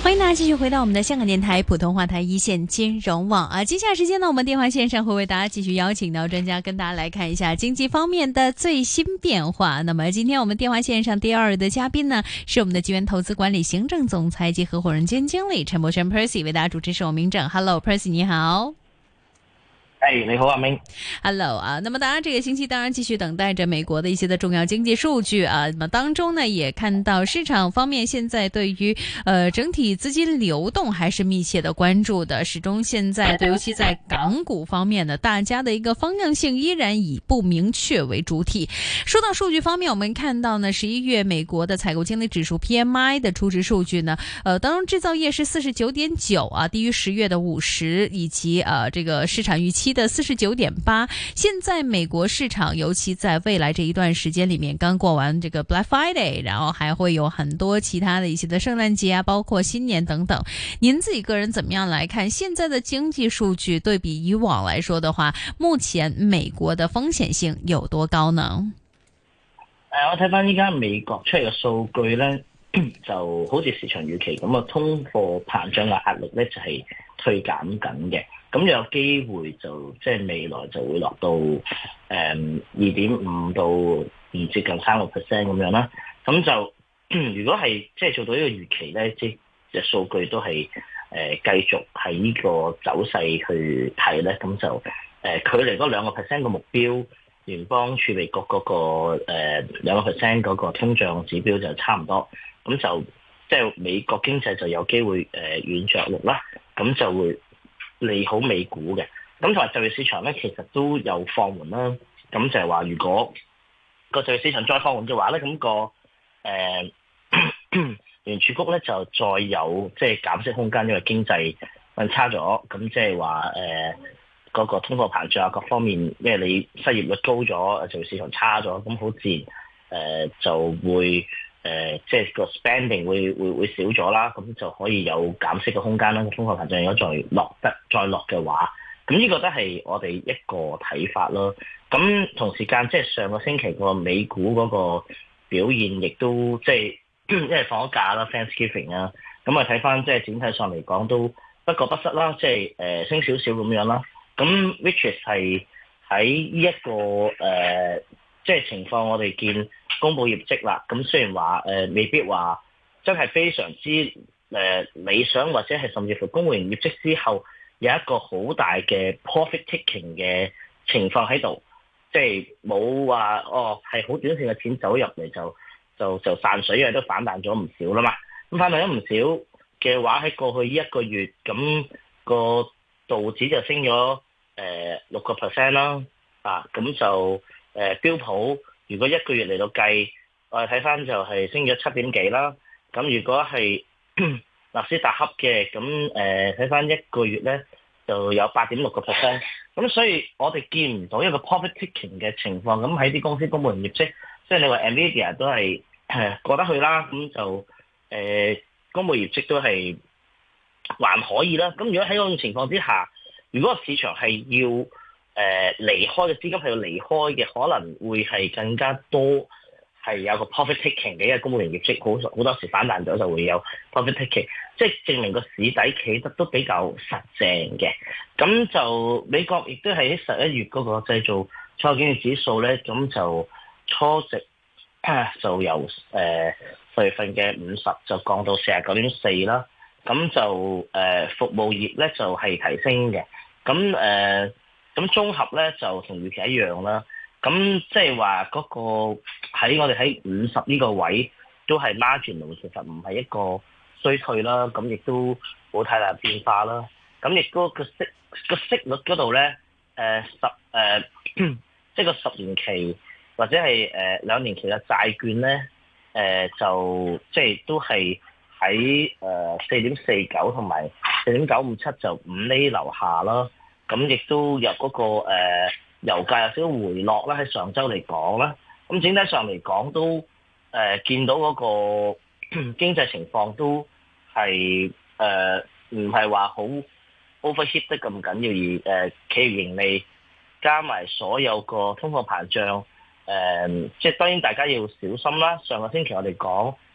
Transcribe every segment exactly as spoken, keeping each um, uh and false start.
欢迎大家继续回到我们的香港电台普通话台一线金融网啊！接下来时间呢，我们电话线上会为大家继续邀请到专家，跟大家来看一下经济方面的最新变化。那么今天我们电话线上第二的嘉宾呢，是我们的吉源投资管理行政总裁及合伙人兼经理陈柏轩 Percy， 为大家主持是我明正。Hello Percy， 你好。 哎，你好，阿明。 Hello 啊，那么当然这个星期当然继续等待着美国的一些的重要经济数据啊，那么当中呢也看到市场方面现在对于呃整体资金流动还是密切的关注的，始终现在尤其在港股方面呢，大家的一个方向性依然以不明确为主体。说到数据方面，我们看到呢十一月美国的采购经理指数 P M I 的初值数据呢，呃当中制造业是 四十九点九 啊，低于十月的五十，以及呃这个市场预期的 四十九点八。现在美国市场尤其在未来这一段时间里面，刚过完这个 Black Friday， 然后还会有很多其他的一些的圣诞节啊，包括新年等等。您自己个人怎么样来看现在的經濟數據對比以往來說的話，目前美國的風險性有多高呢？ 誒，我睇翻依家美國出嚟嘅數據咧，就好似市場預期咁啊，通貨膨脹嘅壓力咧就係退減緊嘅。咁有機會就即係未來就會落到誒二點五到唔接近三個 percent 咁樣啦。咁就如果係即係做到呢個預期咧，即係數據都係誒、呃、繼續喺呢個走勢去睇咧，咁就誒、呃、距離嗰兩個 percent 嘅目標，聯邦儲備局嗰、那個誒兩個 percent 嗰個通脹指標就差唔多。咁就即係美國經濟就有機會誒、呃、軟着陸啦，咁就會利好美股嘅。咁同埋就業市場咧，其實都有放緩啦。咁就係話，如果個就業市場再放緩嘅話咧，咁、那個誒、呃、聯儲局咧就再有即係減息空間，因為經濟運差咗。咁即係話誒嗰個通貨膨脹啊各方面，因為你失業率高咗，就業市場差咗，咁好自然誒、呃、就會。誒、呃，即係個 spending 會會會少咗啦，咁就可以有減息嘅空間啦。通貨膨脹如果再落得再落嘅話，咁呢個都係我哋一個睇法咯。咁同時間即係上個星期個美股嗰個表現，亦都即係因為放咗假啦 ，Thanksgiving 啊，咁啊睇翻即係整體上嚟講都不過不失啦，即係誒、呃、升少少咁樣啦。咁 which is 係喺呢一個誒。呃即係情況，我哋見公佈業績啦。咁雖然話誒、呃、未必話真係非常之誒、呃、理想，或者係甚至乎公佈完業績之後有一個好大嘅 profit taking 嘅情況喺度，即係冇話哦係好短線嘅錢走入嚟就就就散水，因為都反彈咗唔少啦嘛。咁反彈咗唔少嘅話，喺過去呢一個月咁、個道指就升咗誒六個 percent 啦。啊，咁就。誒、呃、標普如果一個月嚟到計，我哋睇翻就係升咗七點幾啦。咁如果係納斯達克嘅，咁誒睇翻一個月咧就有八點六個 percent。咁所以我哋見唔到一個 profit taking 嘅情況。咁喺啲公司公佈完業績，即係你話 Nvidia 都係誒過得去啦。咁就誒、呃、公佈業績都係還可以啦。咁如果喺嗰種情況之下，如果個市場係要誒、呃、離開嘅資金係要離開嘅，可能會係更加多係有個 profit taking 嘅，因為公務員業績好好多時反彈咗就會有 profit taking，即係證明個市底企得都比較實淨嘅。咁就美國亦都係喺十一月嗰個製造採購經理指數咧，咁就初值、啊、就由誒十月份嘅五十就降到四十九點四啦。咁就誒、呃、服務業咧就係、是、提升嘅。咁誒。呃咁綜合咧就同預期一樣啦。咁即係話嗰個喺我哋喺五十呢個位都係 marginal，其實唔係一個衰退啦。咁亦都冇太大變化啦。咁亦都個息個息率嗰度咧，誒十誒即係個十年期或者係誒兩年期嘅債券咧，誒、呃、就即係、就是、都係喺誒四點四九同埋四點九五七就五厘樓下啦。咁亦都有嗰、那個誒、呃、油價有少少回落啦，喺上週嚟講啦。咁整體上嚟講都誒、呃、見到嗰個經濟情況都係誒唔係話好 overheat 得咁緊要，而誒企業盈利加埋所有個通貨膨脹誒，即係當然大家要小心啦。上個星期我哋講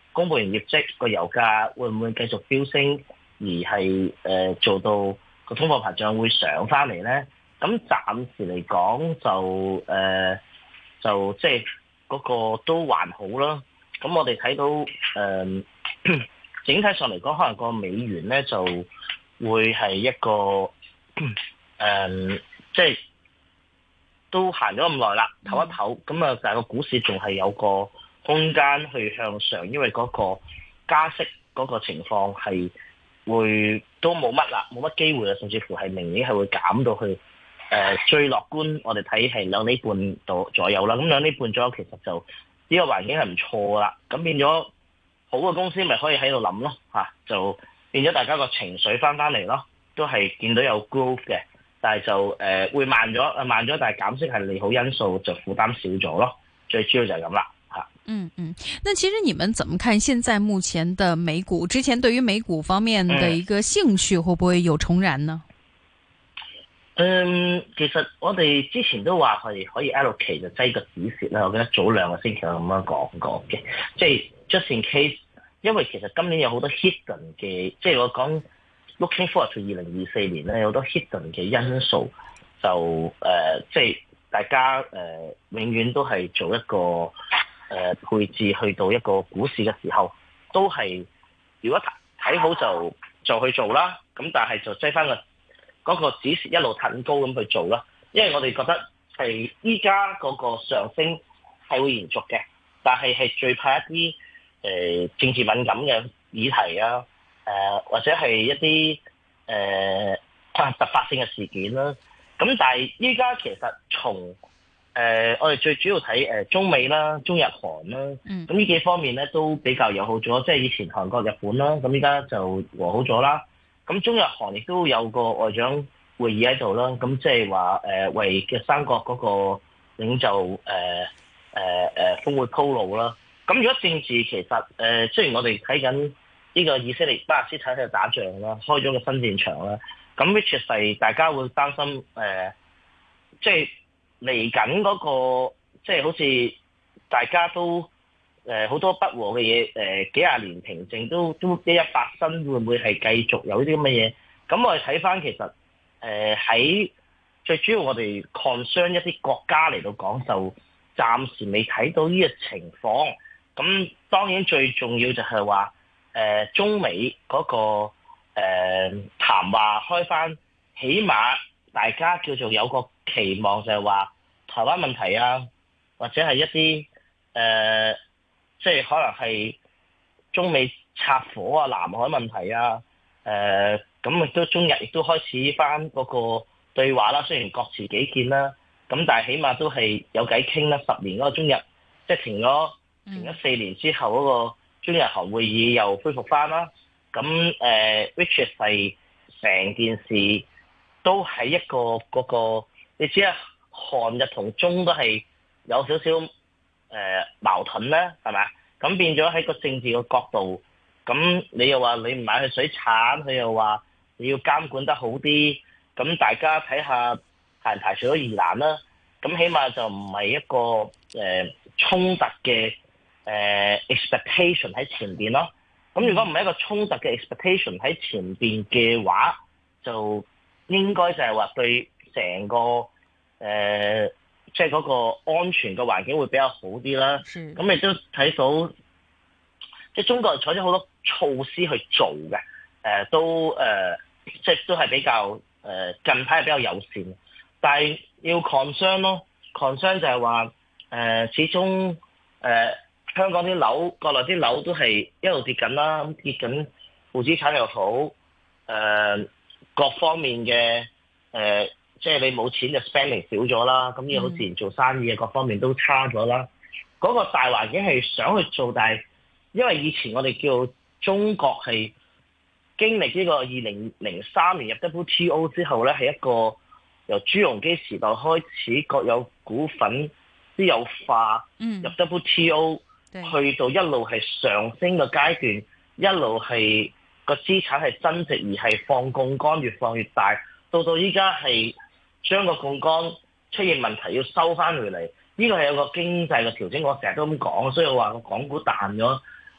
公佈完業績，個油價會唔會繼續飆升，而係誒、呃、做到個通貨膨脹會上翻嚟咧？咁暫時嚟講就誒、呃、就即係嗰個都還好啦。咁我哋睇到誒、呃、整體上嚟講，可能個美元咧就會係一個誒、呃、即係都行咗咁耐啦，唞一唞。咁啊，但係個股市仲係有個空間去向上，因為嗰個加息嗰個情況係會都冇乜啦，冇乜機會啦，甚至乎係明年係會減到去誒、呃、最樂觀，我哋睇係兩厘半度左右啦。咁兩厘半左右其實就呢、這個環境係唔錯啦。咁變咗好嘅公司咪可以喺度諗咯嚇，就變咗大家個情緒翻翻嚟咯，都係見到有 growth 嘅，但係就誒、呃、會慢咗，慢咗，但係減息係利好因素，就負擔少咗咯。最主要就係咁啦。 嗯嗯，那其實你們怎麼看現在目前的美股？之前對於美股方面的一個興趣會不會有重燃呢？ 嗯，其實我哋之前都話係可以 allocate 就擠個止蝕啦。我記得早兩個星期我咁樣講過嘅，即係 just in case，因為其實今年有好多 hidden 嘅，即係我講 looking forward to 二零二四年咧，有好多 hidden 嘅因素，就誒、呃，即係大家誒、呃、永遠都係做一個。誒、呃、配置去到一個股市嘅時候，都係如果睇好就就去做啦。咁但係就擠翻個嗰個止蝕一路騰高咁去做啦。因為我哋覺得係依家嗰個上升係會延續嘅，但係係最怕一啲誒、呃、政治敏感嘅議題啊，誒、呃、或者係一啲誒、呃、突發性嘅事件啦。咁但係依家其實從誒、呃，我哋最主要睇誒中美啦、中日韓啦，咁呢幾方面咧都比較友好咗。即係以前韓國、日本啦，咁依家就和好咗啦。咁中日韓亦都有個外長會議喺度啦。咁即係話誒為嘅三國嗰個領袖誒誒誒峰會鋪路啦。咁如果政治其實誒、呃，雖然我哋睇緊呢個以色列巴勒斯坦喺度打仗啦，開咗個新戰場啦，咁 which 係大家會擔心誒、呃，即係。嚟緊嗰個即係好似大家都誒好、呃、多不和嘅嘢誒幾廿年平靜都都一一發生，會唔會係繼續有啲咁嘅嘢？咁我哋睇翻其實誒喺、呃、最主要我哋 concern 一啲國家嚟到講，就暫時未睇到呢個情況。咁當然最重要就係話誒中美嗰、那個誒、呃、談話開翻，起碼大家叫做有個期望，就係話台灣問題啊，或者係一啲誒、呃，即係可能係中美拆夥啊、南海問題啊，誒咁亦都中日亦都開始翻嗰個對話啦。雖然各持己見啦，咁但係起碼都係有偈傾啦。十年嗰個中日即係停咗停咗四年之後嗰個中日韓會議又恢復翻啦。咁誒、呃、which is 係成件事都係一個嗰、嗰個。你知啊，韓日同中都係有少少誒、呃、矛盾咧，係咪？咁變咗喺個政治嘅角度，咁你又話你唔買去水產，佢又話你要監管得好啲，咁大家睇下排唔排除咗疑難啦。咁起碼就唔係一個誒、呃、衝突嘅誒、呃、expectation 喺前邊咯。咁如果唔係一個衝突嘅 expectation 喺前邊嘅話，就應該就係話對成個誒，即係嗰個安全嘅環境會比較好啲啦。咁亦都睇到，即係中國採取好多措施去做嘅，誒、呃、都誒，即、呃、係、就是、都係比較誒、呃、近排係比較友善。但係要 concern 咯 concern 就係話誒，始終誒、呃、香港啲樓、國內啲樓都係一路跌緊啦，咁跌緊負資產又好，誒、呃、各方面嘅。誒、呃，即係你冇錢就 spending 少咗啦，咁要好自然做生意嘅各方面都差咗啦。嗰、嗯、個大環境係想去做，但係因為以前我哋叫中國係經歷呢個二零零三年入 W T O 之後咧，係一個由朱鎔基時代開始國有股份私有化，嗯、入 W T O 去到一路係上升嘅階段，一路係個資產係增值而係放槓桿越放越大。到到依家係將個槓桿出現問題要收翻回嚟，呢個係有個經濟嘅調整。我成日都咁講，所以我話個港股彈咗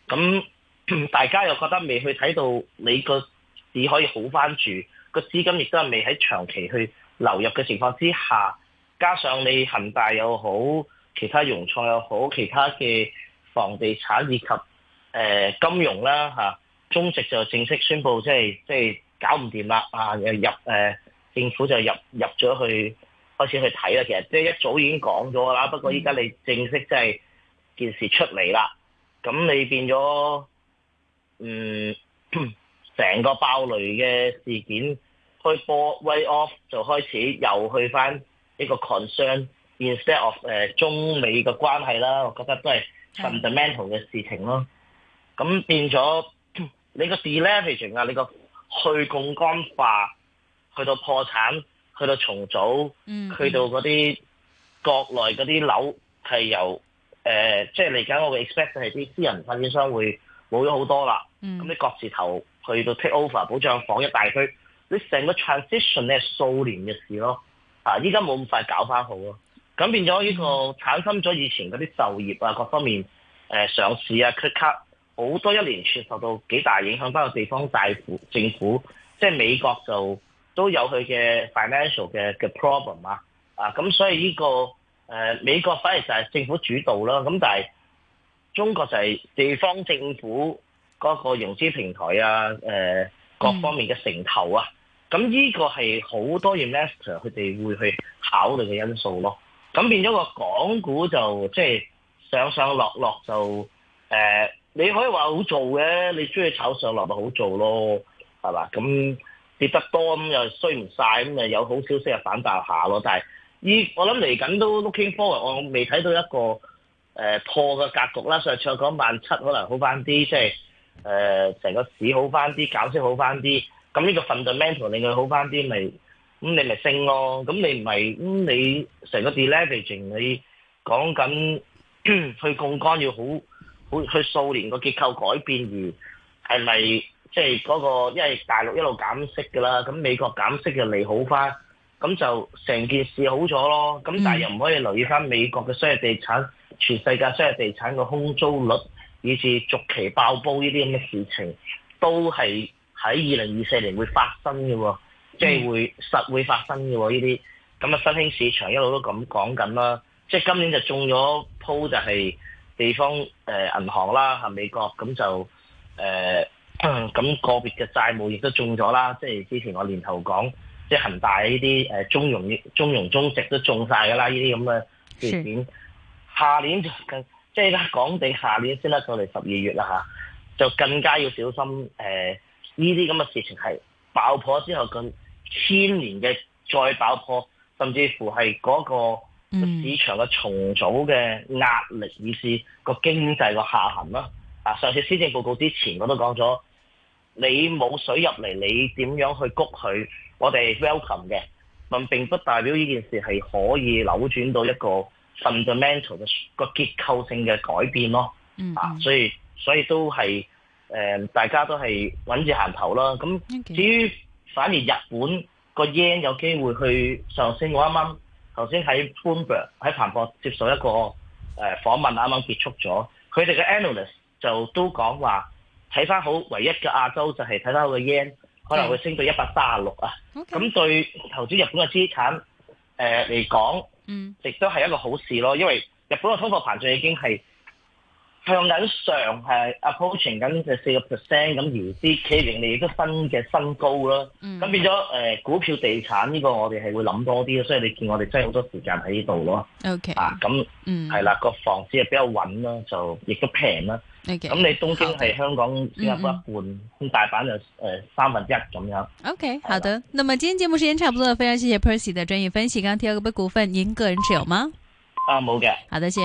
咁大家又覺得未去睇到你個市可以好翻住，個資金亦都係未喺長期去流入嘅情況之下，加上你恒大又好，其他融創又好，其他嘅房地產以及誒、呃、金融啦嚇、啊，中植就正式宣布即係即係搞唔掂啦啊！入誒、呃、政府就入入咗去開始去睇啦。其實即係一早已經講咗啦，不過依家你正式即係件事出嚟啦，咁你變咗嗯成個爆雷嘅事件開波 way off 就開始又去翻呢個 concern instead of 誒、呃、中美嘅關係啦，我覺得都係 fundamental 嘅事情咯。咁變咗你個 deleveraging 啊，你個去槓桿化，去到破產，去到重組，嗯、去到嗰啲國內嗰啲樓係由誒，即係嚟緊我會 expect 係啲私人發展商會冇咗好多啦。咁你各自頭去到 take over 保障房一大堆，你成個 transition 咧係數年嘅事咯。啊，依家冇咁快搞翻好咯。咁變咗呢個產生咗以前嗰啲就業啊各方面誒、呃、上市啊 cut cut 好多一連串受到幾大影響，包括地方大府政府，即係美國就都有佢嘅 financial 嘅嘅 problem 啊。啊，咁所以呢、這個誒、呃、美國反而就係政府主導啦。咁但係中國就係地方政府嗰個融資平台啊，誒、呃、各方面嘅城投啊。咁呢個係好多 investor 佢哋會去考慮嘅因素咯。咁變咗個港股就即係上上落落就誒、呃，你可以話好做嘅，你中意炒上落咪好做咯，係嘛？咁跌得多咁又衰唔晒，咁又有好消息又反彈下咯。但係依我諗嚟緊都 looking forward，我未睇到一個誒、呃、破嘅格局啦。上次我講萬七可能好翻啲，即係誒成個市好翻啲，減息好翻啲。咁呢個 fundamental 令佢好翻啲，咪咁你咪升咯。咁你唔係咁你成個 deleveraging 你講緊去槓桿要好好去數年個結構改變，而係咪即係嗰個因為大陸一路減息㗎啦，咁美國減息就利好翻，咁就成件事好咗咯。咁但係又唔可以留意翻美國嘅商業地產，全世界商業地產嘅空租率以至續期爆煲呢啲咁嘅事情都係喺二零二四年會發生嘅喎，即係會實會發生嘅喎呢啲，咁啊新興市場一路都咁講緊啦，即係今年就中咗鋪就係地方誒、呃、銀行啦，嚇美國咁就誒咁、呃、個別嘅債務亦都中咗啦，即係之前我年頭講，即係恒大呢啲誒中融中融中植都中晒㗎啦，呢啲咁嘅事件，下年就更即係咧講定下年先得到嚟十二月啦嚇，就更加要小心誒。呃呢啲咁嘅事情係爆破之後咁千年嘅再爆破，甚至乎係嗰個市場嘅重組嘅壓力，以至個經濟個下行啦。啊，上次施政報告之前我都講咗，你冇水入嚟，你點樣去谷佢？我哋 welcome 嘅，但並不代表呢件事係可以扭轉到一個 fundamental 嘅個結構性嘅改變咯。啊，所以所以都係。誒、呃，大家都係穩住行頭啦。咁至於反而日本個 yen 有機會去上升，我啱啱頭先喺 Bloomberg 喺彭博接受一個誒、呃、訪問，啱啱結束咗，佢哋嘅 analyst 就都講話睇翻好，唯一嘅亞洲就係睇翻個 yen 可能會升到一百三十六啊。咁、okay. 對投資日本嘅資產誒嚟講，嗯，亦都係一個好事咯，因為日本嘅通貨膨脹已經係向緊上係 approaching 緊嘅四個 percent 咁，而啲企業盈利亦都新嘅新高啦。咁、嗯、變咗誒、呃、股票地產呢個我哋係會諗多啲，所以你見我哋真係好多時間喺呢度咯。OK 啊，咁係啦，個房子係比較穩啦，就亦都平啦。OK，咁你東京係香港新加坡一半，咁、嗯、大阪就誒、呃、三分之一咁樣。OK， 好的。那麼今天節目時間差不多了，非常謝謝 Percy 的專業分析。剛剛提到嗰筆股份，您個人持有嗎？ 啊，冇嘅。 好的，謝謝。